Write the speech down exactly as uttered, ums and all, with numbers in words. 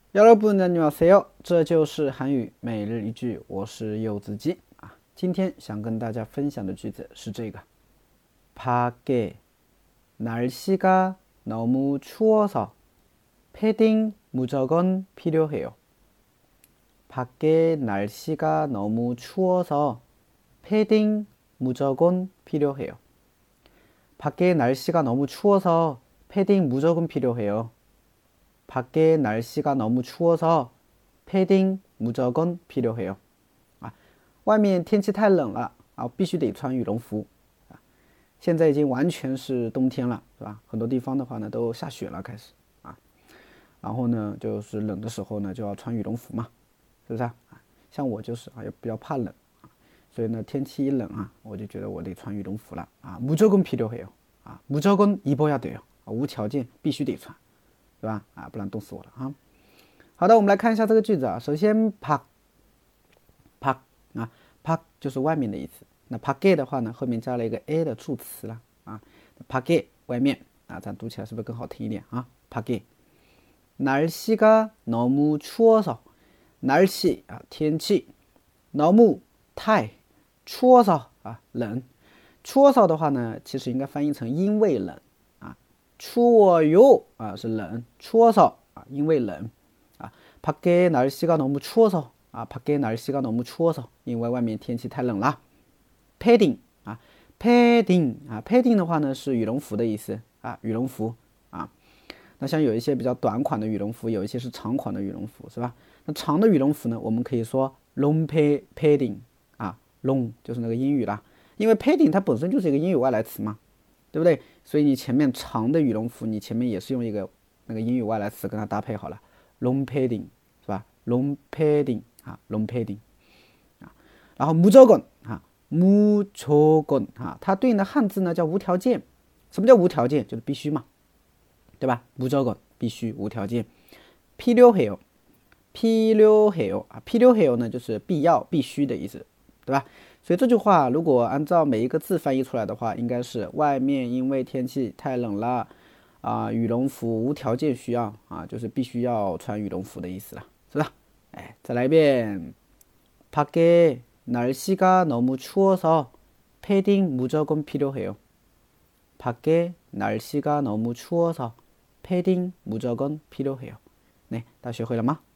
여러분 안녕하세요. 这就是韩语每日一句，我是柚子鸡啊。今天想跟大家分享的句子是这个：밖에 날씨가 너무 추워서 패딩 무조건 필요해요. 밖에 날씨가 너무 추워서 패딩 무조건 필요해요. 밖에 날씨가 너무 추워서 패딩 무조건 필요해요. 밖에 날씨가 너무 추워서 패딩 무조건 필요해요. 啊，外面天气太冷了啊，必须得穿羽绒服啊。现在已经完全是冬天了，是吧？很多地方的话呢都下雪了，开始啊。然后呢，就是冷的时候呢就要穿羽绒服嘛，是不是啊？像我就是啊，也比较怕冷啊，所以呢天气一冷啊，我就觉得我得穿羽绒服了啊。무조건 필요해요啊，무조건 입어야 돼요啊，无条件必须得穿。对吧？啊，不然冻死我了啊！好的，我们来看一下这个句子啊。首先，밖 밖啊밖就是外面的意思。那밖에的话呢，后面加了一个 a 的助词了啊。밖에外面啊，咱读起来是不是更好听一点啊？밖에 날씨가 너무 추워서 날씨啊天气너무太추워서啊冷추워서的话呢，其实应该翻译成因为冷。추워요啊是冷， 추워서啊因为冷啊， 밖에 날씨가 너무 추워서啊 밖에 날씨가 너무 추워서 因为外面天气太冷了。 padding 啊 padding 啊 padding 的话呢是羽绒服的意思啊，羽绒服啊。那像有一些比较短款的羽绒服，有一些是长款的羽绒服，是吧？那长的羽绒服呢，我们可以说 long padding 啊 long 就是那个英语啦，因为 padding 它本身就是一个英语外来词嘛，对不对？所以你前面长的羽绒服，你前面也是用一个那个英语外来词跟它搭配好了 long padding 是吧 long padding 啊 long padding 啊，然后무조건啊무조건啊，它对应的汉字呢叫无条件。什么叫无条件？就是必须嘛，对吧？무조건必须无条件。필요해요 필요해요啊 필요해요呢就是必要必须的意思，对吧？所以这句话如果按照每一个字翻译出来的话，应该是外面因为天气太冷了啊，羽绒服无条件需要啊，就是必须要穿羽绒服的意思了，是吧？哎，再来一遍。밖에 날씨가 너무 추워서 패딩 무조건 필요해요. 밖에 날씨가 너무 추워서 패딩 무조건 필요해요. 네, 다 学会了吗？